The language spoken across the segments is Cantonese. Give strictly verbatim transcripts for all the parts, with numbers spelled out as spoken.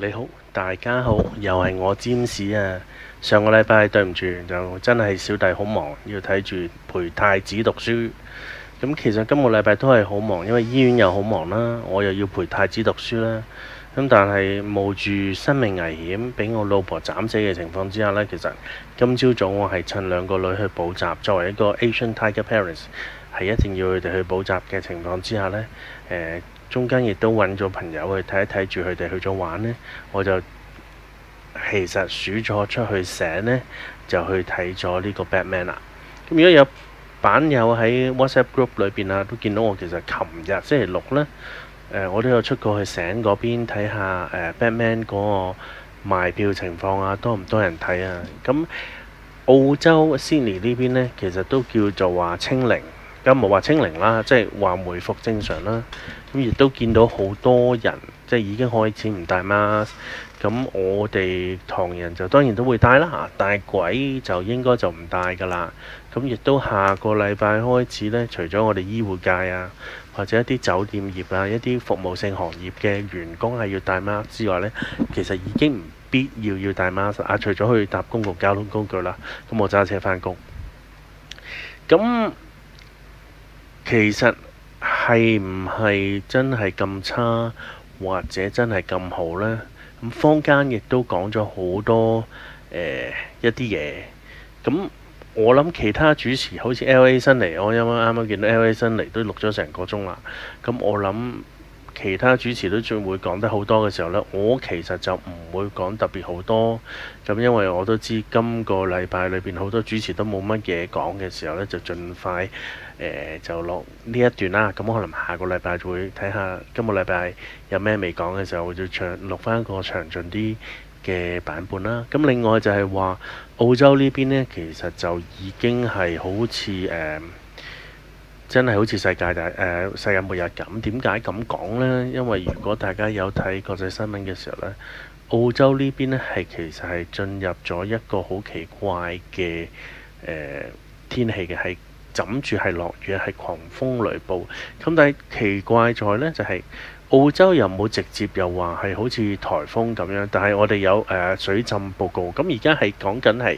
你好，大家好，又係我占士啊！上個禮拜對唔住，就真係小弟好忙，要睇住陪太子讀書。咁其實今個禮拜都係好忙，因為醫院又好忙啦，我又要陪太子讀書啦。咁但係冒住生命危險，俾我老婆斬死嘅情況之下呢，其實今朝早我係趁兩個女去補習，作為一個 Asian Tiger Parents，係一定要佢哋去補習嘅情況之下呢。誒、呃。中間亦都揾咗朋友去睇一睇住佢哋去咗玩呢，我就其實數咗出去醒呢，就去睇咗呢個 Batman 啦。咁如果有版友喺 WhatsApp group 裏邊啊，都見到我其實琴日星期六呢，呃、我都有出過去醒嗰邊睇下誒 Batman 嗰個賣票情況啊，多唔多人睇啊？咁澳洲 Sydney 呢邊呢，其實都叫做話清零。咁冇話清零啦，即係話回復正常啦。咁亦都見到好多人，即係已經開始唔戴 mask。咁我哋唐人就當然都會戴啦，但係鬼就應該就唔戴噶啦。咁亦都下個禮拜開始呢，除咗我哋醫護界啊，或者一啲酒店業啊，一啲服務性行業嘅員工係要戴 mask 之外呢，其實已經唔必要要戴 mask 啊。除咗去搭公共交通工具啦，咁我揸車返工。咁其實係唔係真係咁差，或者真係咁好呢？咁坊間亦都講咗好多誒、呃、一啲嘢。咁我諗其他主持好似 L A 辛尼，我因為啱啱見到 L A 辛尼都錄咗成個鐘啦。咁我諗其他主持都仲會講得好多嘅時候呢，我其實就唔會講特別好多。咁因為我都知今個禮拜裏邊好多主持都冇乜嘢講嘅時候呢，就盡快。誒、呃、就落呢一段啦，咁可能下個禮拜就會睇下今個禮拜有咩未講嘅時候，就長錄翻一個詳盡啲嘅版本啦。咁另外就係話澳洲呢邊呢，其實就已經係好似誒、呃、真係好似世界大誒、呃、世界末日咁。點解咁講呢？因為如果大家有睇國際新聞嘅時候呢，澳洲呢邊呢係其實係進入咗一個好奇怪嘅誒、呃、天氣嘅係。枕住係落雨，係狂風雷暴。咁但係奇怪在呢，就係、是、澳洲又冇直接又話係好似颱風咁樣，但係我哋有誒、呃、水浸報告。咁而家係講緊係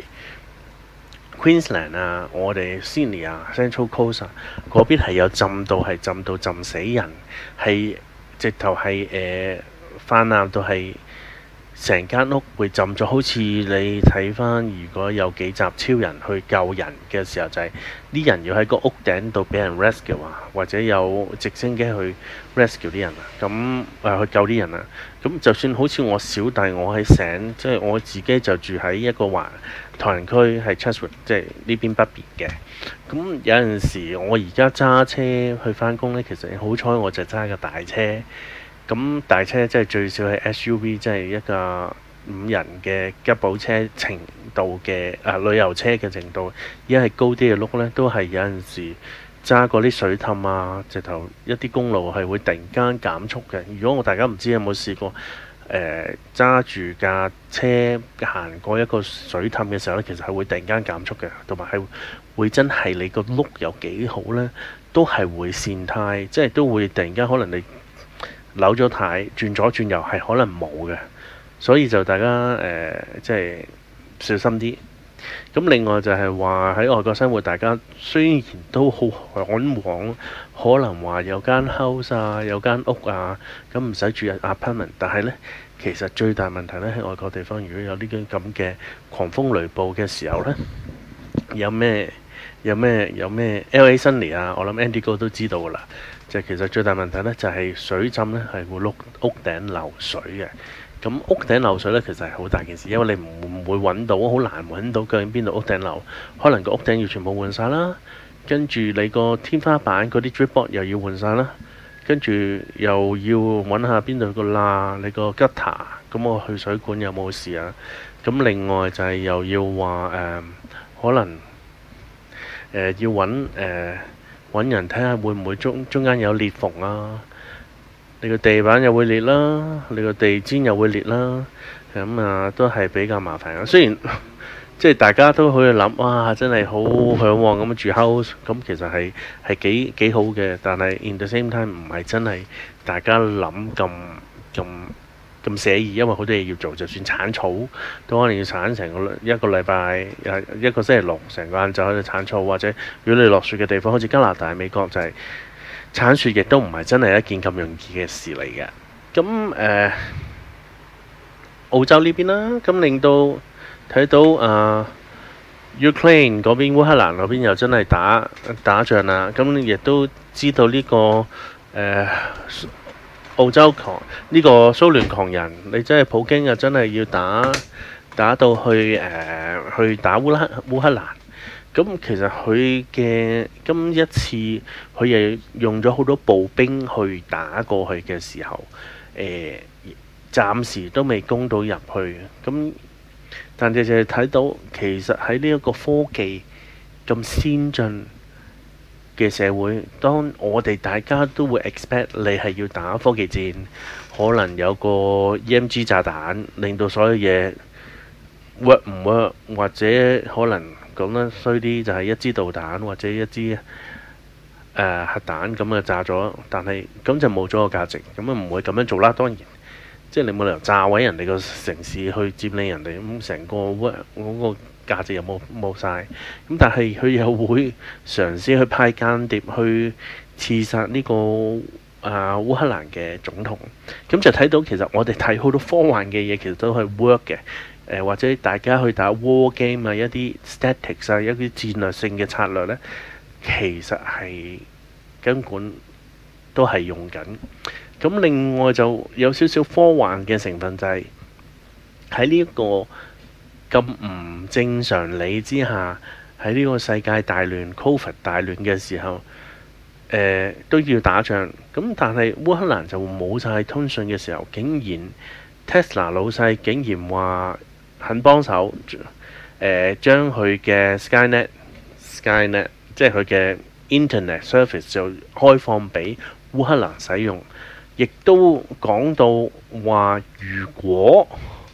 Queensland 啊，我哋 Sydney 啊 Central Coast 啊嗰邊係有浸到係浸到浸死人，係直頭係誒泛濫到係。成間屋會浸咗，好似你睇翻，如果有幾集超人去救人嘅時候，就係、是、啲人要喺個屋頂度俾人 rescue 啊，或者有直升機去 rescue 啲人啊，咁誒、呃、去救啲人啊。咁就算好似我小弟，我喺醒，即係我自己就住喺一個華唐人區，係 Chatswood，即係呢邊北邊嘅。咁有陣時，我而家揸車去翻工呢，其實好彩我就揸個大車。咁大車即係最少係 S U V，即係一個五人嘅吉普車程度嘅啊旅遊車嘅程度，而家係高啲嘅轆呢，都係有陣時揸過啲水氹啊，直頭一啲公路係會突然間減速嘅。如果我大家唔知有冇試過誒揸住架車行過一個水氹嘅時候呢，其實係會突然間減速嘅，同埋係會真係你個轆有幾好呢，都係會跣胎，即係都會突然間可能你。扭咗軚，轉左轉右係可能冇嘅，所以就大家誒、呃、即係小心啲。咁另外就係話喺外國生活，大家雖然都好嚮往，可能話有間 house 啊，有間屋啊，咁唔使住 apartment，但係呢，其實最大問題呢喺外國地方，如果有呢啲咁嘅狂風雷暴嘅時候呢，有咩有咩有咩 L A 辛尼啊，我諗 Andy 哥都知道㗎啦。就其實最大問題呢，就係、是、水浸呢係會碌屋頂漏水嘅。咁屋頂漏水呢，其實係好大件事，因為你唔會揾到，好難揾到究竟邊度屋頂漏。可能個屋頂要全部換晒啦，跟住你個天花板嗰啲 drip board 又要換晒啦，跟住又要揾下邊度個罅，你個 gutter 咁我去水管有冇事啊？咁另外就係又要話誒、呃，可能誒、呃、要揾誒。呃揾人睇下會唔會中中間有裂縫啊？你個地板又會裂啦，你個地氈又會裂啦，咁啊都係比較麻煩嘅。雖然即係大家都可以諗，哇！真係好嚮往咁住 house，咁其實係係幾幾好嘅，但係 in the same time 唔係真係大家諗咁咁咁寫意，因為好多嘢要做，就算鏟草都可能要鏟成個一個禮拜，一個星期六成個晏晝喺度鏟草，或者如果你落雪嘅地方，好似加拿大、美國就係、是、鏟雪，亦都唔係真係一件咁容易嘅事嚟嘅。咁誒、呃、澳洲呢邊啦，咁令到睇到誒、呃、Ukraine 嗰邊烏克蘭嗰邊又真係打打仗啦，咁亦都知道呢、這個誒。呃澳洲狂呢、這個蘇聯狂人，你真係普京啊！真係要打打到去誒、呃、去打烏克烏克蘭。咁其實佢嘅今一次佢又用咗好多步兵去打過去嘅時候，誒、呃、暫時都未攻到入去。咁但係就係睇到其實喺呢一個科技咁先進嘅社會，當我哋大家都會 expect 你係要打科技戰，可能有個 E M G 炸彈，令到所有嘢 work 唔 work，或者可能講得衰啲就係一支導彈或者一支誒、呃、核彈咁啊炸咗，但係咁就冇咗個價值，咁啊唔會咁樣做啦。當然，即係你冇理由炸毀人哋個城市去佔領人哋，咁成個 work 嗰個價值又冇冇晒，咁但係佢又會嘗試去派間諜去刺殺呢、這個啊烏克蘭嘅總統，咁就睇到其實我哋睇好多科幻嘅嘢，其實都係 work 嘅。誒、呃、或者大家去打 war game 啊，一啲 statics 啊，一啲戰略性嘅策略呢，其實係根本都係用緊。咁另外就有少少科幻嘅成分，就係喺呢一個咁唔正常理之下，喺呢個世界大亂、Covid 大亂嘅時候，誒、呃、都要打仗。咁但係烏克蘭就冇晒通訊嘅時候，竟然 Tesla 老細竟然話肯幫手，誒、呃、將佢嘅 Skynet、Skynet 即係佢嘅 Internet Service 就開放俾烏克蘭使用，亦都講到話如果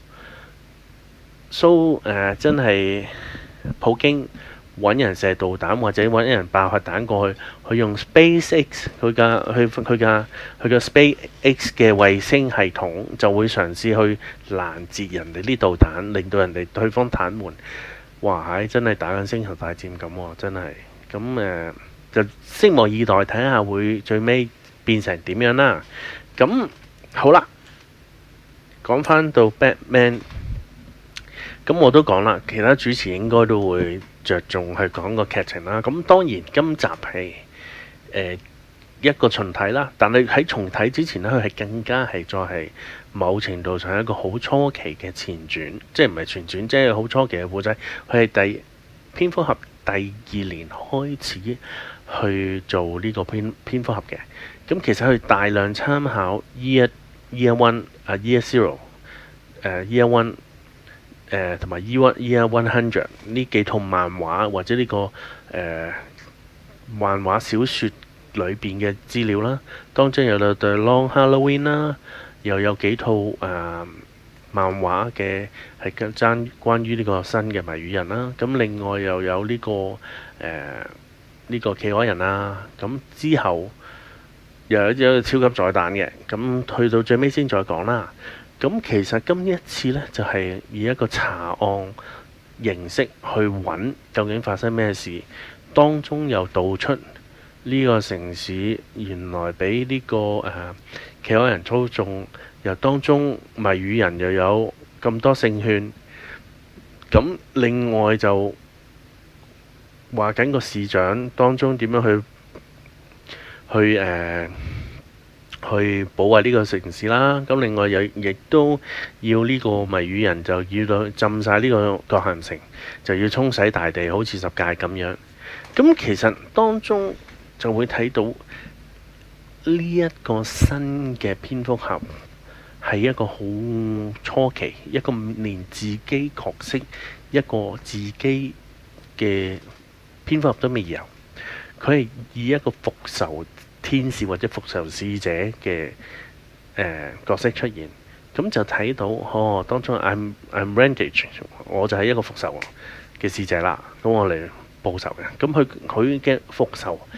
蘇、so, 呃、真係普京揾人射導彈或者揾人爆核彈過去，佢用 SpaceX 佢嘅佢佢嘅佢嘅 SpaceX 嘅衛星系統就會嘗試去攔截人哋啲導彈，令到人哋對方癱瘓。哇！係真係打緊星球大戰咁喎，真係咁誒，就拭目以待，睇下會最尾變成點樣啦。咁好啦，講翻到 Batman。咁我都講啦，其他主持應該都會着重去講個劇情啦。咁當然今集係誒、呃、一個重睇啦，但係喺重睇之前呢，佢係更加係再係某程度上一個好初期嘅前傳，即係唔係前傳，即係好初期嘅故仔。佢係第蝙蝠俠第二年開始去做呢個蝙蝙蝠俠嘅。咁其實佢大量參考 Year Year One 啊 Year Zero 誒 Year One。誒同埋 Year Year One Hundred 呢幾套漫畫或者呢、這個誒、呃、漫畫小説裏邊嘅資料啦，當中有到對 Long Halloween 啦，又有幾套誒、呃、漫畫嘅係跟爭關於呢個新嘅謎語人啦。咁另外又有呢、這個誒呢、呃這個企鵝人啦。咁之後又有一個超級彩蛋嘅，咁去到最尾先再講啦。咁其實今一次呢，就係、是、以一個查案形式去揾究竟發生咩事，當中又道出呢個城市原來俾呢、這個誒、呃、企鵝人操縱，又當中謎語人又有咁多勝券。咁另外就話緊個市長當中點樣去去誒、呃去保衞呢個城市啦，咁另外又亦都要呢個謎語人就要到浸晒呢個葛咸城，就要沖洗大地，好似十誡咁樣。咁其實當中就會睇到呢一個新嘅蝙蝠俠係一個好初期，一個連自己角色一個自己嘅蝙蝠俠都未有，佢係以一個復仇天使或者復仇使者嘅誒、呃、角色出現，咁就睇到哦，當中 I'm I'm Randage，我就係一個復仇嘅使者啦，咁我嚟報仇嘅。咁佢佢嘅復仇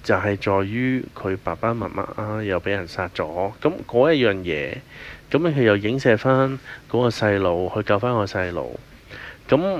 就係在於佢爸爸媽媽啊又俾人殺咗，咁嗰一樣嘢，咁佢又影射翻嗰個細路去救翻個細路，咁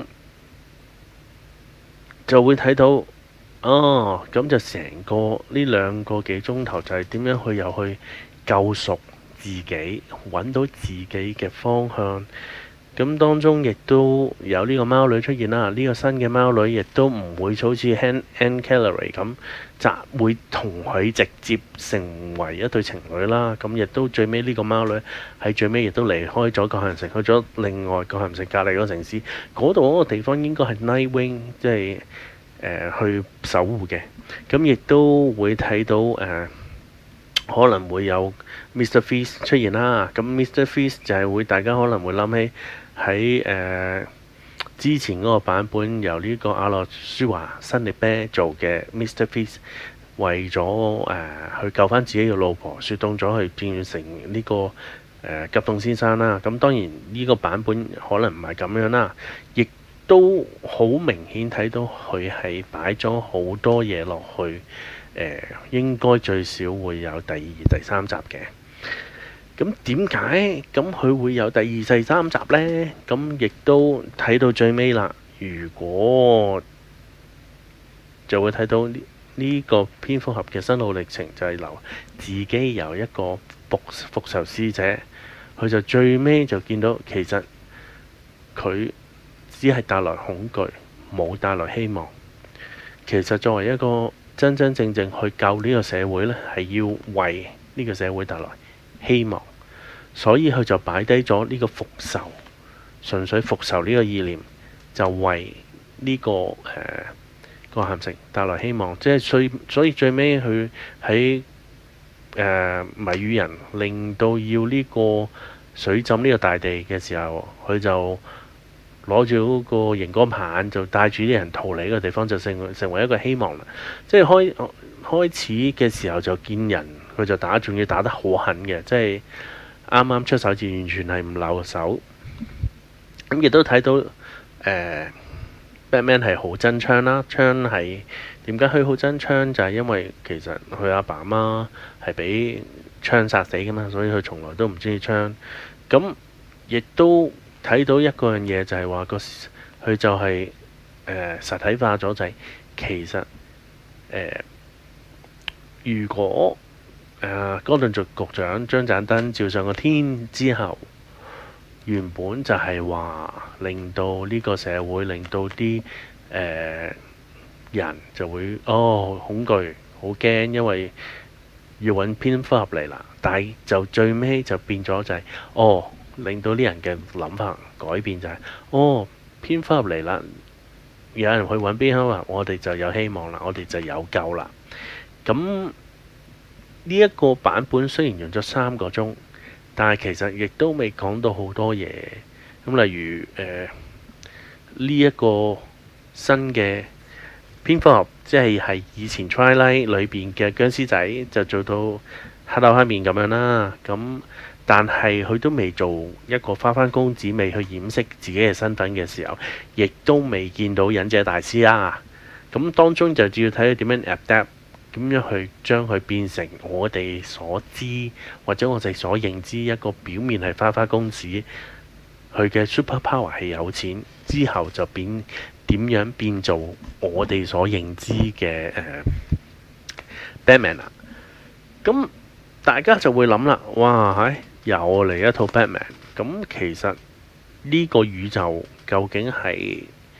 就會睇到哦，咁就成個呢兩個幾鐘頭就係點樣去又去救贖自己，揾到自己嘅方向。咁當中亦都有呢個貓女出現啦，呢、這個新嘅貓女亦都唔會好似 Anne Callaway 咁，就會同佢直接成為一對情侶啦。咁亦都最尾呢個貓女喺最尾亦都離開咗葛咸城，去咗另外葛咸城隔離嗰個城市。嗰度嗰個地方應該係 Nightwing，即係、呃、去守護嘅。咁亦都會睇到誒、呃，可能會有 Mister Freeze 出現啦。咁 Mister Freeze 就係會大家可能會諗起。喺誒、呃、之前嗰個版本，由呢個阿諾舒華辛力啤做嘅 Mister Freeze， 為咗誒、呃、去救翻自己嘅老婆，雪凍咗去變成呢、這個誒、呃、急凍先生啦。咁當然呢個版本可能唔係咁樣啦，亦都好明顯睇到佢係擺咗好多嘢落去。誒、呃、應該最少會有第二、第三集嘅。咁點解咁佢會有第二、第三集呢？咁亦都睇到最尾啦。如果就會睇到呢呢個蝙蝠俠嘅心路歷程，就係由自己由一個復復仇使者，佢就最尾就見到其實佢只係帶來恐懼，冇帶來希望。其實作為一個真真正正去救呢個社會呢，係要為呢個社會帶來希望，所以佢就擺低咗呢個復仇，純粹復仇呢個意念，就為呢、這個誒葛咸城帶來希望。即係所所以最尾佢喺誒謎語人令到要呢個水浸呢個大地嘅時候，佢就攞住嗰個熒光棒，就帶住啲人逃離呢個地方，就成成為一個希望啦。即係開開始嘅時候就見人，佢就打，仲要打得好狠嘅，即係啱啱出手就完全係唔留手。咁亦都睇到誒、呃、Batman 係好真槍啦，槍係點解佢好真槍？就係、是、因為其實佢阿爸阿媽係俾槍殺死噶嘛，所以佢從來都唔中意槍。咁亦都睇到一個樣嘢，就係話個佢就係、是、誒、呃、實體化咗，就係、是、其實誒、呃、如果誒、呃、哥頓族局長將盞燈照上個天之後，原本就係話令到呢個社會，令到啲誒、呃、人就會哦恐懼好驚，因為要揾蝙蝠俠嚟啦。但係就最尾就變咗就係、是、哦，令到啲人嘅諗法改變，就係、是、哦蝙蝠俠嚟啦，有人去揾蝙蝠俠，我哋就有希望啦，我哋就有救啦。咁呢一個版本雖然用咗三個鐘，但係其實亦都未講到好多嘢。咁例如誒呢一個新嘅蝙蝠俠，即係係以前 Twilight 裏邊嘅殭屍仔，就做到黑口黑面咁樣啦。咁但係佢都未做一個花花公子，未去掩飾自己嘅身份嘅時候，亦都未見到忍者大師啦。咁當中就主要睇佢點樣 adapt。點樣去將佢變成我哋所知或者我哋所認知一個表面係花花公子，佢嘅 super power 係有錢，之後就變點樣變做我哋所認知嘅誒、呃、Batman 啊？咁大家就會諗啦，哇！唉，又嚟一套 Batman。咁其實呢個宇宙究竟係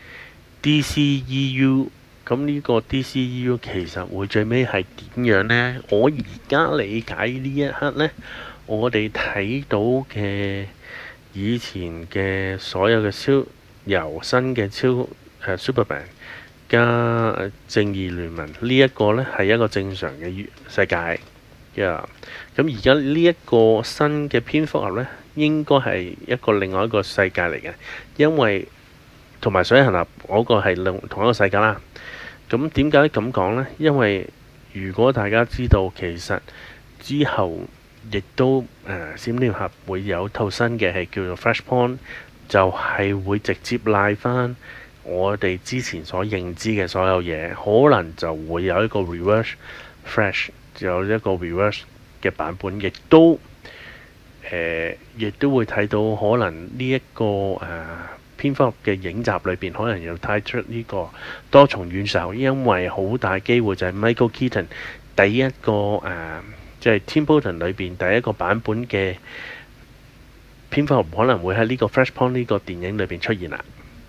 D C E U？咁呢個 D C E U 其實會最尾係點樣呢？我而家理解呢一刻呢，我哋睇到嘅以前嘅所有嘅超由新嘅超誒、uh, Superman 加正義聯盟呢一個呢係一個正常嘅世界嘅。咁而家呢一個新嘅蝙蝠俠呢，應該係一個另外一個世界嚟嘅，因為同埋水行俠嗰個係另同一個世界啦。咁點解咁講呢？因為如果大家知道，其實之後亦都誒閃電俠會有套新嘅係叫做 Flashpoint，就係會直接賴翻我哋之前所認知嘅所有嘢，可能就會有一個 reverse Flash 有一個 reverse 嘅版本，亦都誒，亦、呃、都會睇到可能呢、這、一個誒蝙蝠俠嘅影集裏邊，可能又帶出呢個多重宇宙，因為好大機會就係 Michael Keaton 第一個誒，即、呃、係、就是、Tim Burton 裏邊第一個版本嘅蝙蝠俠可能會喺呢個 Flashpoint 呢個電影裏邊出現啦。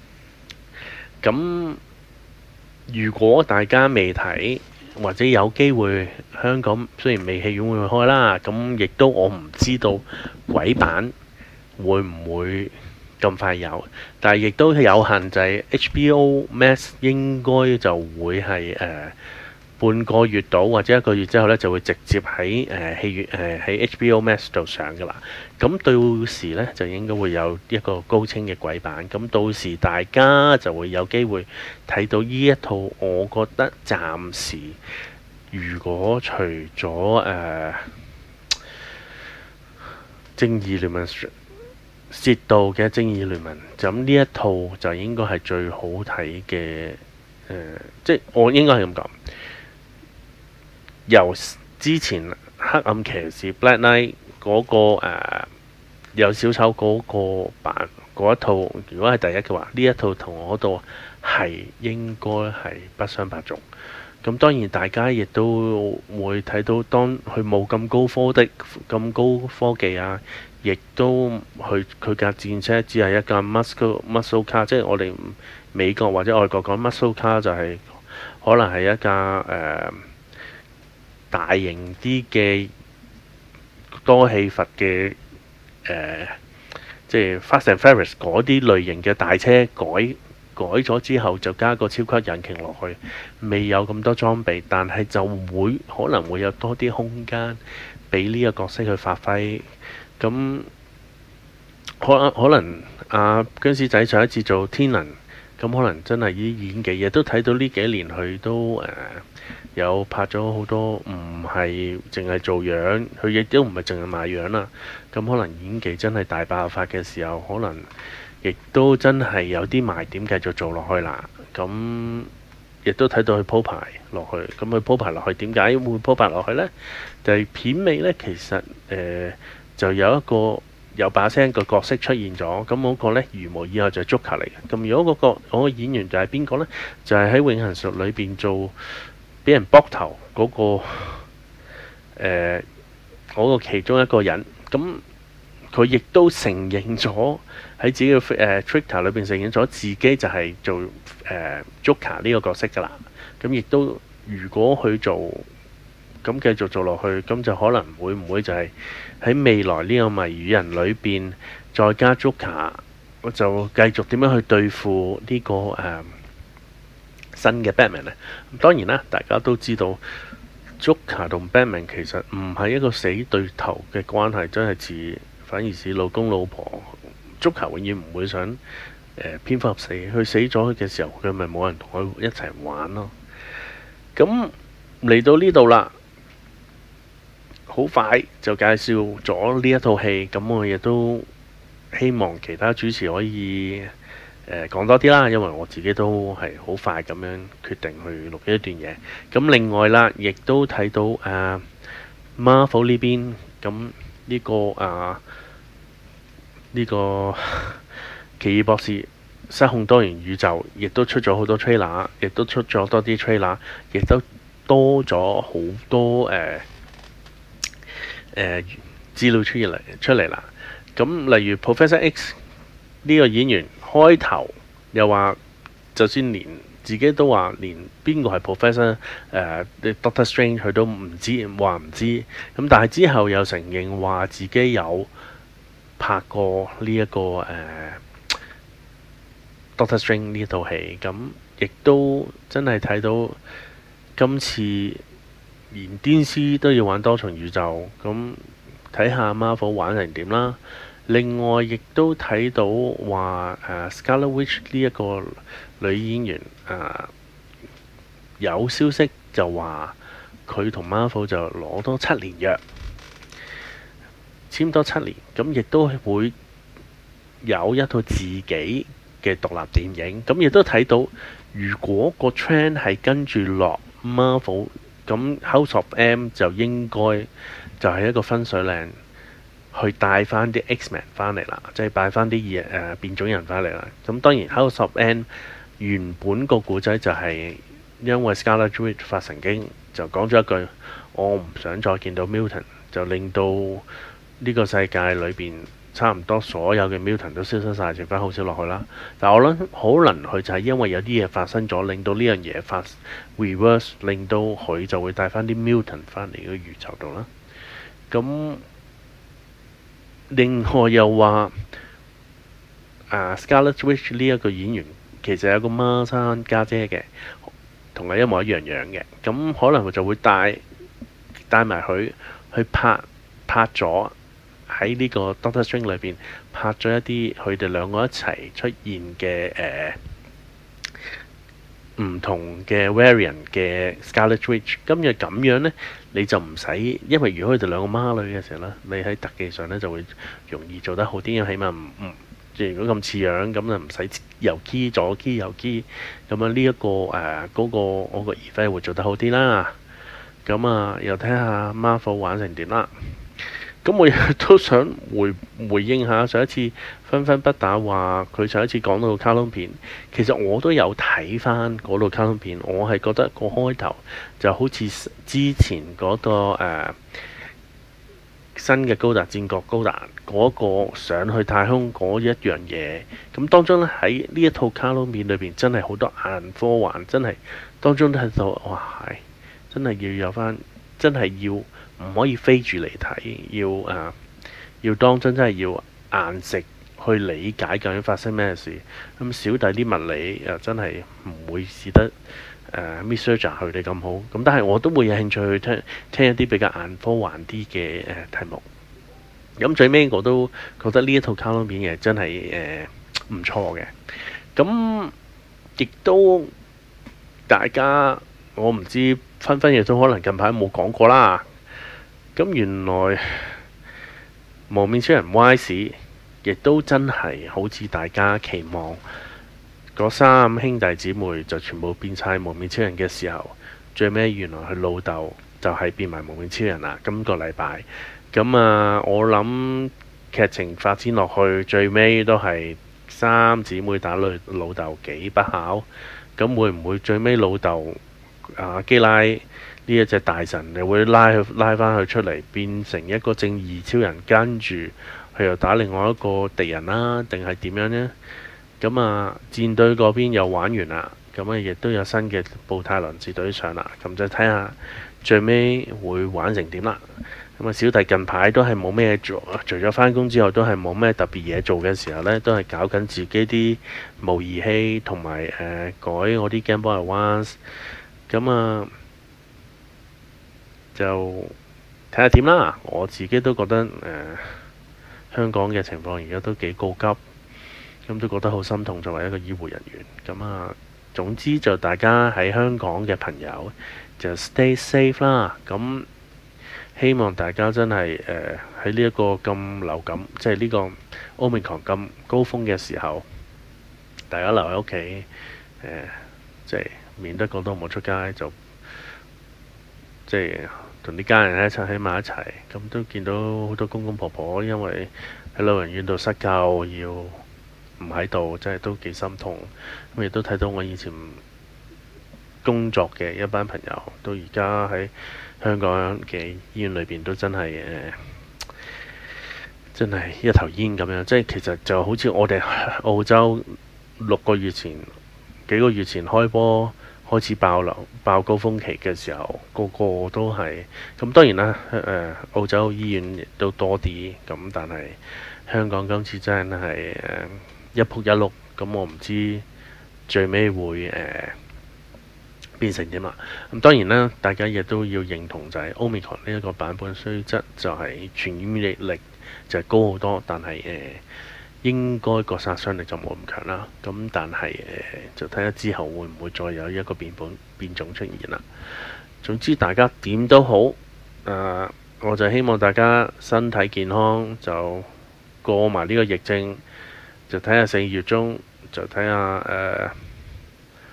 咁如果大家未睇，或者有機會香港雖然未戲院會開啦，咁亦都我唔知道鬼版會唔會咁快有，但係亦都有限制。H B O Max 應該就會係誒、呃、半個月到或者一個月之後呢，就會直接喺誒戲院誒喺 H B O Max 度上噶啦。咁到時呢，就應該會有一個高清嘅鬼版，咁到時大家就會有機會睇到呢一套。我覺得暫時如果除咗誒、呃、正義聯盟涉到嘅正義聯盟，咁呢一套就應該係最好睇嘅誒，即係我應該係咁講。由之前黑暗騎士 Black Knight 嗰、那個、呃、有小丑嗰個版嗰一套，如果係第一嘅話，呢一套同我嗰度係應該係不相伯仲。咁當然大家亦都會睇到，當佢冇咁高科的咁高科技啊，亦都佢佢架戰車只係一架 muscle muscle car，即係我哋美國或者外國講 muscle car 就係可能係一架誒、呃、大型啲嘅多氣閥嘅誒，即係 Fast and Furious 嗰啲類型嘅大車改。改咗之後就加個超級引擎落去，未有咁多裝備，但係就會可能會有多啲空間俾呢個角色去發揮。咁可可能阿姜師仔上一次做天能，咁可能真係啲演技，亦都睇到呢幾年佢都誒、呃、有拍咗好多，唔係淨係做樣，佢亦都唔係淨係賣樣啦。咁可能演技真係大爆發嘅時候，可能亦都真係有啲賣點繼續做落去啦。咁亦都睇到佢鋪排落去，咁佢鋪排落去點解會鋪排落去呢？就係、是、片尾呢，其實誒、呃、就有一個有把聲個角色出現咗。咁嗰個呢，如無意外就係 Joker 嚟嘅。咁如果嗰、那個嗰、那個演員就係邊個呢？就係、是、喺永恆術裏邊做俾人卜頭嗰、那個誒嗰、呃那個其中一個人。咁佢亦都承認咗喺自己嘅誒、呃、Twitter 裏邊承認咗自己就係做誒、呃、Joker 呢個角色㗎啦。咁亦都如果佢做咁繼續做落去，咁就可能會唔會就係喺未來呢個謎語人裏邊再加 Joker，我就繼續點樣去對付呢、這個誒、呃、新嘅 Batman 呢？當然啦，大家都知道 Joker 同 Batman 其實唔係一個死對頭嘅關係，真係似。反而是老公老婆，Joker永遠唔會想誒蝙蝠俠死，佢死咗嘅時候，佢咪冇人同佢一齊玩咯。咁嚟到呢度啦，好快就介紹咗呢一套戲。咁我亦都希望其他主持可以誒、呃、講多啲啦，因為我自己都係好快咁樣決定去錄一段嘢。咁另外啦，亦都睇到誒、呃、Marvel 呢邊咁。呢、這個啊，呢、這個奇異博士失控多元宇宙，亦都出咗好多 trailer，亦都出咗多啲 trailer，亦都多咗好多誒誒資料出嚟出嚟啦。咁例如 Professor X 呢個演員開頭又話，就算連自己都話連邊個係 Professor 誒、呃、Doctor Strange 佢都唔知，話唔知。咁但係之後又承認話自己有拍過呢、這、一個誒、呃、Doctor Strange 呢套戲。咁亦都真係睇到今次連 D C 都要玩多重宇宙，咁睇下 Marvel 玩成點啦。另外亦都睇到話誒、呃、Scarlet Witch 呢一個女演員誒、呃、有消息就話佢同 Marvel 就攞多七年約，簽多七年，咁亦都會有一套自己嘅獨立電影。咁亦都睇到，如果個 trend 係跟住落 Marvel 咁 House of M 就應該就係一個分水嶺，去帶翻啲 X-Men 翻嚟啦，即係帶翻啲嘢誒變種人翻嚟啦。咁當然 House of M 原本個故仔就係因為 Scarlet Witch 發神經，就講咗一句我唔想再見到 Mutant， 就令到呢個世界裏邊差唔多所有嘅 Mutant 都消失晒，剩翻好少落去啦。但我諗可能佢就係因為有啲嘢發生咗，令到呢樣嘢發 reverse， 令到佢就會帶翻啲 Mutant 翻嚟個宇宙度啦。咁另外又話啊 Scarlet Witch 呢一個演員其實有個孖生家姐嘅，同佢一模一樣樣嘅。咁可能佢就會帶帶埋佢去拍拍咗喺呢個 Doctor Strange 裏邊拍咗一啲佢哋兩個一齊出現嘅誒唔同嘅 variant 嘅 Scarlet Witch。今日咁樣呢，你就唔使，因為如果佢哋兩個孖女嘅時候呢，你喺特技上呢就會容易做得好啲，因為起碼唔唔即係如果咁似樣，咁就唔使右 key 左 key 右 key，咁樣呢一個誒嗰個我個 effect 會做得好啲啦。咁啊，又睇下 Marvel 玩成點啦。咁我亦都想回回應下上一次分分不打話佢上一次講到卡通片，其實我都有睇翻嗰套卡通片，我係覺得個開頭就好似之前嗰、嗰個、呃、新嘅高達戰國高達嗰個上去太空嗰一樣嘢。咁當中咧喺呢一套卡通片裏邊真係好多硬科幻，真係當中都睇到哇係真係要有翻，真係要。唔可以飛住嚟睇，要誒、呃、要當真，真係要硬食去理解究竟發生咩事。咁小弟啲物理又真係唔會試得誒 research 佢哋咁好。咁但係我都會有興趣去聽聽一啲比較硬科幻啲嘅誒題目。咁最尾我都覺得呢一套卡通片嘅真係誒唔錯嘅。咁亦都大家我唔知分分亦都可能近排冇講過啦。咁原來無面超人 Y 亦都真係好似大家期望嗰三兄弟姊妹就全部變晒無面超人嘅時候，最尾原來佢老豆就係變埋無面超人啦。今個禮拜咁啊，我諗劇情發展落去，最尾都係三姊妹打老老豆幾不巧。咁會唔會最尾老豆啊基拉呢一隻大神，你會拉佢拉翻佢出嚟，變成一個正義超人，跟住佢又打另外一個敵人啦，定係點樣呢？咁啊，戰隊嗰邊又玩完啦，咁啊亦都有新嘅布泰倫戰隊上啦，咁就睇下最尾會玩成點啦。咁啊，小弟近排都係冇咩做，除咗翻工之後，都係冇咩特別嘢做嘅時候呢，都係搞緊自己啲模擬器同埋誒改我啲 Game Boy Advance。咁啊〜就睇下點啦，我自己都覺得誒、呃、香港嘅情況而家都幾告急，咁都覺得好心痛作為一個醫護人員。咁啊，總之就大家喺香港嘅朋友就 stay safe 啦。咁希望大家真係誒喺呢一個咁流感，即係呢個 Omicron 咁高峰嘅時候，大家留喺屋企誒，即係免得講到冇出街，就即係。同啲家人一齊喺埋一齊，咁都見到好多公公婆婆因為喺老人院度失救，要唔喺度，真係都幾心痛。咁亦都睇到我以前工作嘅一班朋友，到而家喺香港嘅醫院裏邊都真係誒、呃，真係一頭煙咁樣。即係其實就好似我哋澳洲六個月前、幾個月前開波。開始爆流、爆高峰期嘅時候，個個都係咁。當然啦，誒、呃、澳洲醫院亦都多啲咁，但係香港今次真係誒、呃、一仆一碌。咁我唔知最尾會誒、呃、變成點啦。咁當然啦，大家亦都要認同就係 Omicron 呢一個版本，雖則就係傳染力力就係高好多，但係誒。呃應該個殺傷力就冇咁強啦，咁但係誒、呃、就睇下之後會唔會再有一個變本變種出現啦。總之大家點都好，誒、呃、我就希望大家身體健康，就過埋呢個疫症，就睇下四月中就睇下誒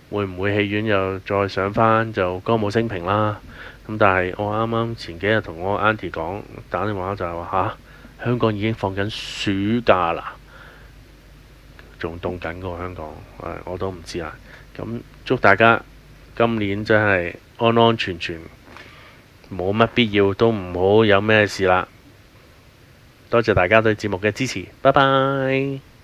會唔會戲院又再上返就歌舞升平啦？咁但係我啱啱前幾日同我 auntie 講，打電話就係話吓，香港已經放緊暑假啦，仲凍緊過香港，我都唔知啦。咁祝大家今年真係安安全全，冇乜必要都唔好有咩事啦。多謝大家對節目嘅支持，拜拜。